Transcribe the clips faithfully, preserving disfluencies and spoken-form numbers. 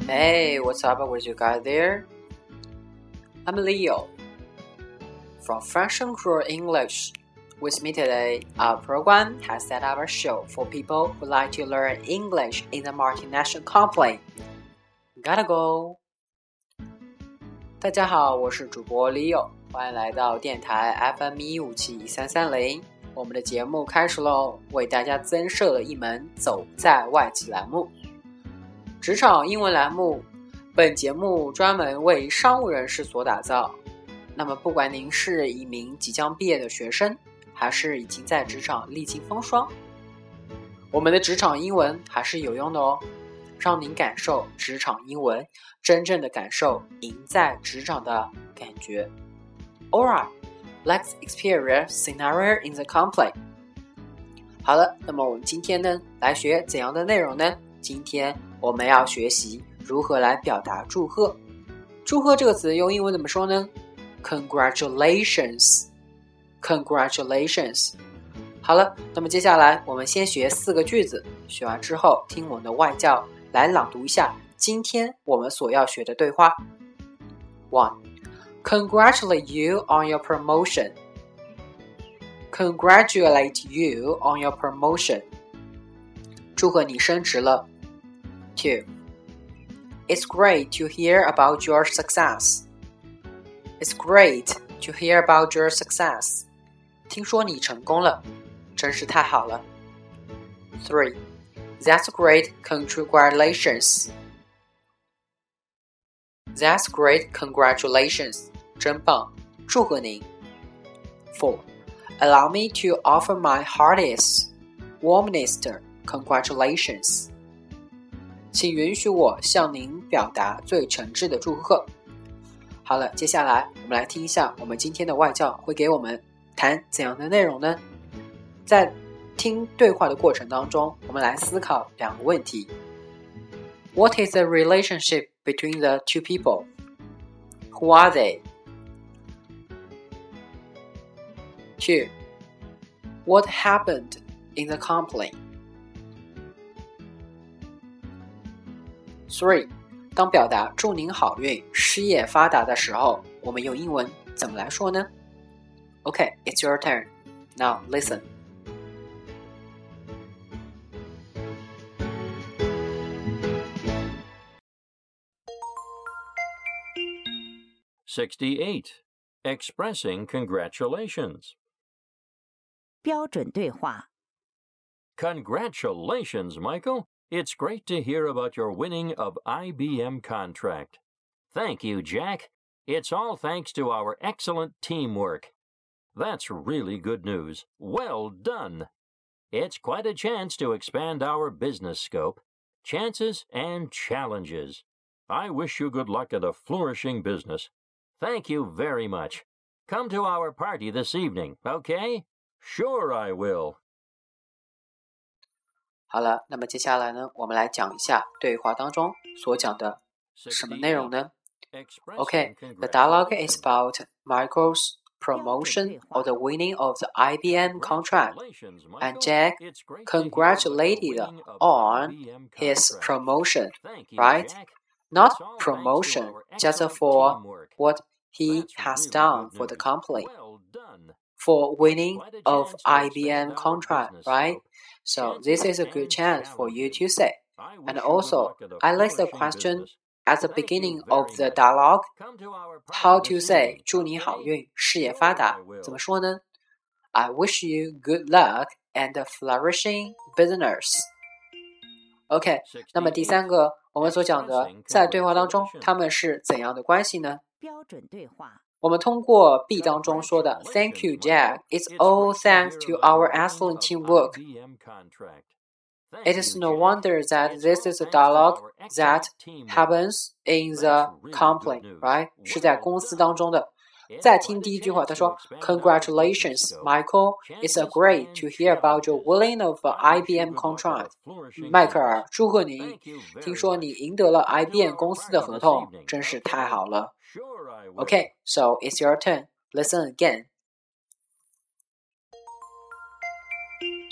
Hey, what's up with you guys there? I'm Leo from French and Creole English. With me today, our program has set up a show for people who like to learn English in the multinational company. Gotta go! 大家好，我是主播 Leo， 欢迎来到电台 F M 一五七三三零。我们的节目开始喽，为大家增设了一门走在外企栏目。职场英文栏目，本节目专门为商务人士所打造。那么不管您是一名即将毕业的学生，还是已经在职场历经风霜，我们的职场英文还是有用的哦，让您感受职场英文，真正的感受赢在职场的感觉。Alright, let's experience scenario in the company. 好了，那么我们今天呢，来学怎样的内容呢？今天我们要学习如何来表达祝贺。祝贺这个词用英文怎么说呢？ Congratulations Congratulations 好了，那么接下来我们先学四个句子，学完之后听我们的外教来朗读一下今天我们所要学的对话。 one. Congratulate you on your promotion. Congratulate you on your promotion. 祝贺你升职了。 two. It's great to hear about your success. It's great to hear about your success. 听说你成功了，真是太好了。 three. That's great, congratulations. That's great, congratulations. 真棒，祝贺您。 four. Allow me to offer my heartiest, warmest congratulations. 请允许我向您表达最诚挚的祝贺。好了，接下来我们来听一下我们今天的外教会给我们谈怎样的内容呢？在听对话的过程当中，我们来思考两个问题。 What is the relationship between the two people? Who are they? two. What happened in the company? three. 当表达祝您好运、事业发达的时候，我们用英文怎么来说呢？ Okay, it's your turn. Now listen. sixty-eight. Expressing congratulations. 标准对话 Congratulations, Michael. It's great to hear about your winning of I B M contract. Thank you, Jack. It's all thanks to our excellent teamwork. That's really good news. Well done. It's quite a chance to expand our business scope, chances and challenges. I wish you good luck at a flourishing business. Thank you very much. Come to our party this evening, okay? Sure I will. 好了，那么接下来呢，我们来讲一下对话当中所讲的什么内容呢？ Okay, the dialogue is about Michael's promotion or the winning of the I B M contract, and Jack congratulated on his promotion, right? Not promotion just for what he has done for the company, for winning of I B M contract, right? So this is a good chance for you to say. And also, I like the question at the beginning of the dialogue. How to say 祝你好运，事业发达，怎么说呢？ I wish you good luck and a flourishing business. OK, 那么第三个我们所讲的在对话当中他们是怎样的关系呢？ 标准对话我们通过 B 当中说的 Thank you, Jack. It's all thanks to our excellent teamwork. It is no wonder that this is a dialogue that happens in the company, right? 是在公司当中的。再听第一句话，他说 Congratulations, Michael. It's a great to hear about your winning of I B M contract. 迈克尔，祝贺你！听说你赢得了 I B M 公司的合同，真是太好了。Okay, so it's your turn. Listen again.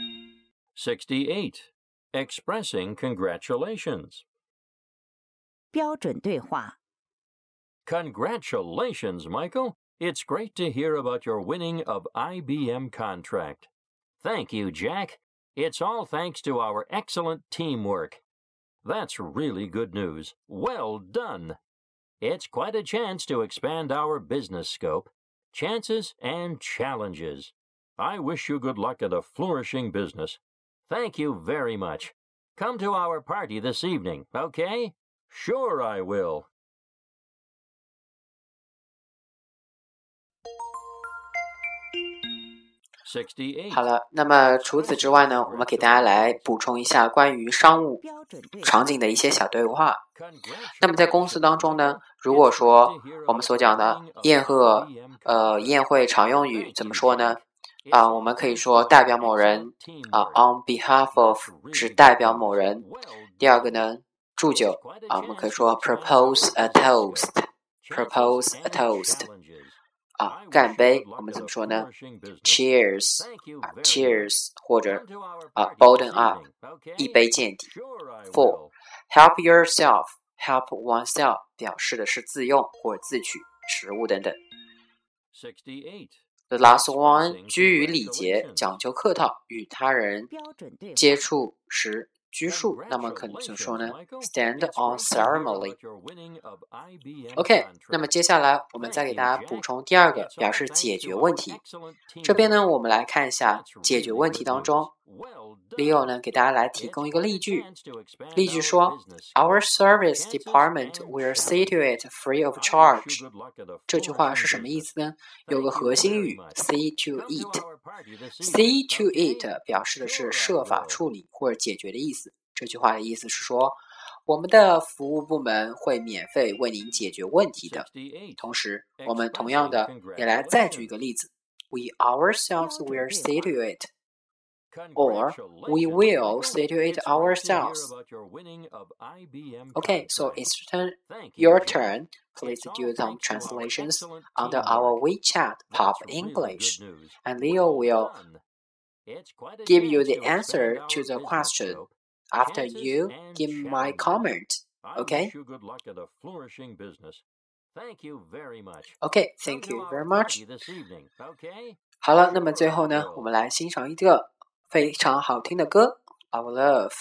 sixty-eight. Expressing congratulations. 标准对话 Congratulations, Michael. It's great to hear about your winning of I B M contract. Thank you, Jack. It's all thanks to our excellent teamwork. That's really good news. Well done. It's quite a chance to expand our business scope, chances and challenges. I wish you good luck at a flourishing business. Thank you very much. Come to our party this evening, okay? Sure I will. sixty-eight. 好了，那么除此之外呢，我们给大家来补充一下关于商务场景的一些小对话。那么在公司当中呢，如果说我们所讲的宴贺呃宴会常用语怎么说呢？啊、呃，我们可以说代表某人啊、呃、，on behalf of 只代表某人。第二个呢，祝酒啊、呃，我们可以说 propose a toast，propose a toast。啊，干杯，我们怎么说呢 ？Cheers， 啊 ，Cheers， 或者啊 ，Bottom up， 一杯见底。Four， help yourself，help oneself 表示的是自用或自取食物等等。The last one， 居于礼节，讲究客套，与他人接触时拘束，那么可能怎么说呢 ？Stand on ceremony。OK， 那么接下来我们再给大家补充第二个，表示解决问题。这边呢，我们来看一下解决问题当中 ，Leo 呢给大家来提供一个例句。例句说 ：Our service department will see to it free of charge。这句话是什么意思呢？有个核心语 see to it。see to it 表示的是设法处理或者解决的意思。这句话的意思是说，我们的服务部门会免费为您解决问题的。同时，我们同样的也来再举一个例子 ：We ourselves will see to it。Or we will see to it ourselves. Okay, so it's turn, your turn. Please do some translations under our WeChat Pop English, and Leo will give you the answer to the question after you give my comment. Okay? Okay, thank you very much. 好了，那么最后呢，我们来欣赏一个非常好听的歌 Our Love。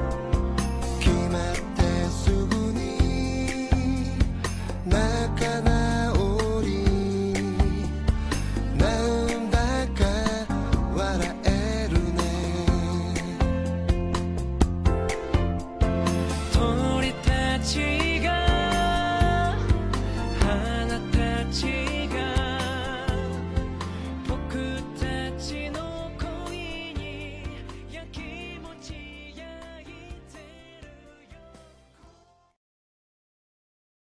なかなか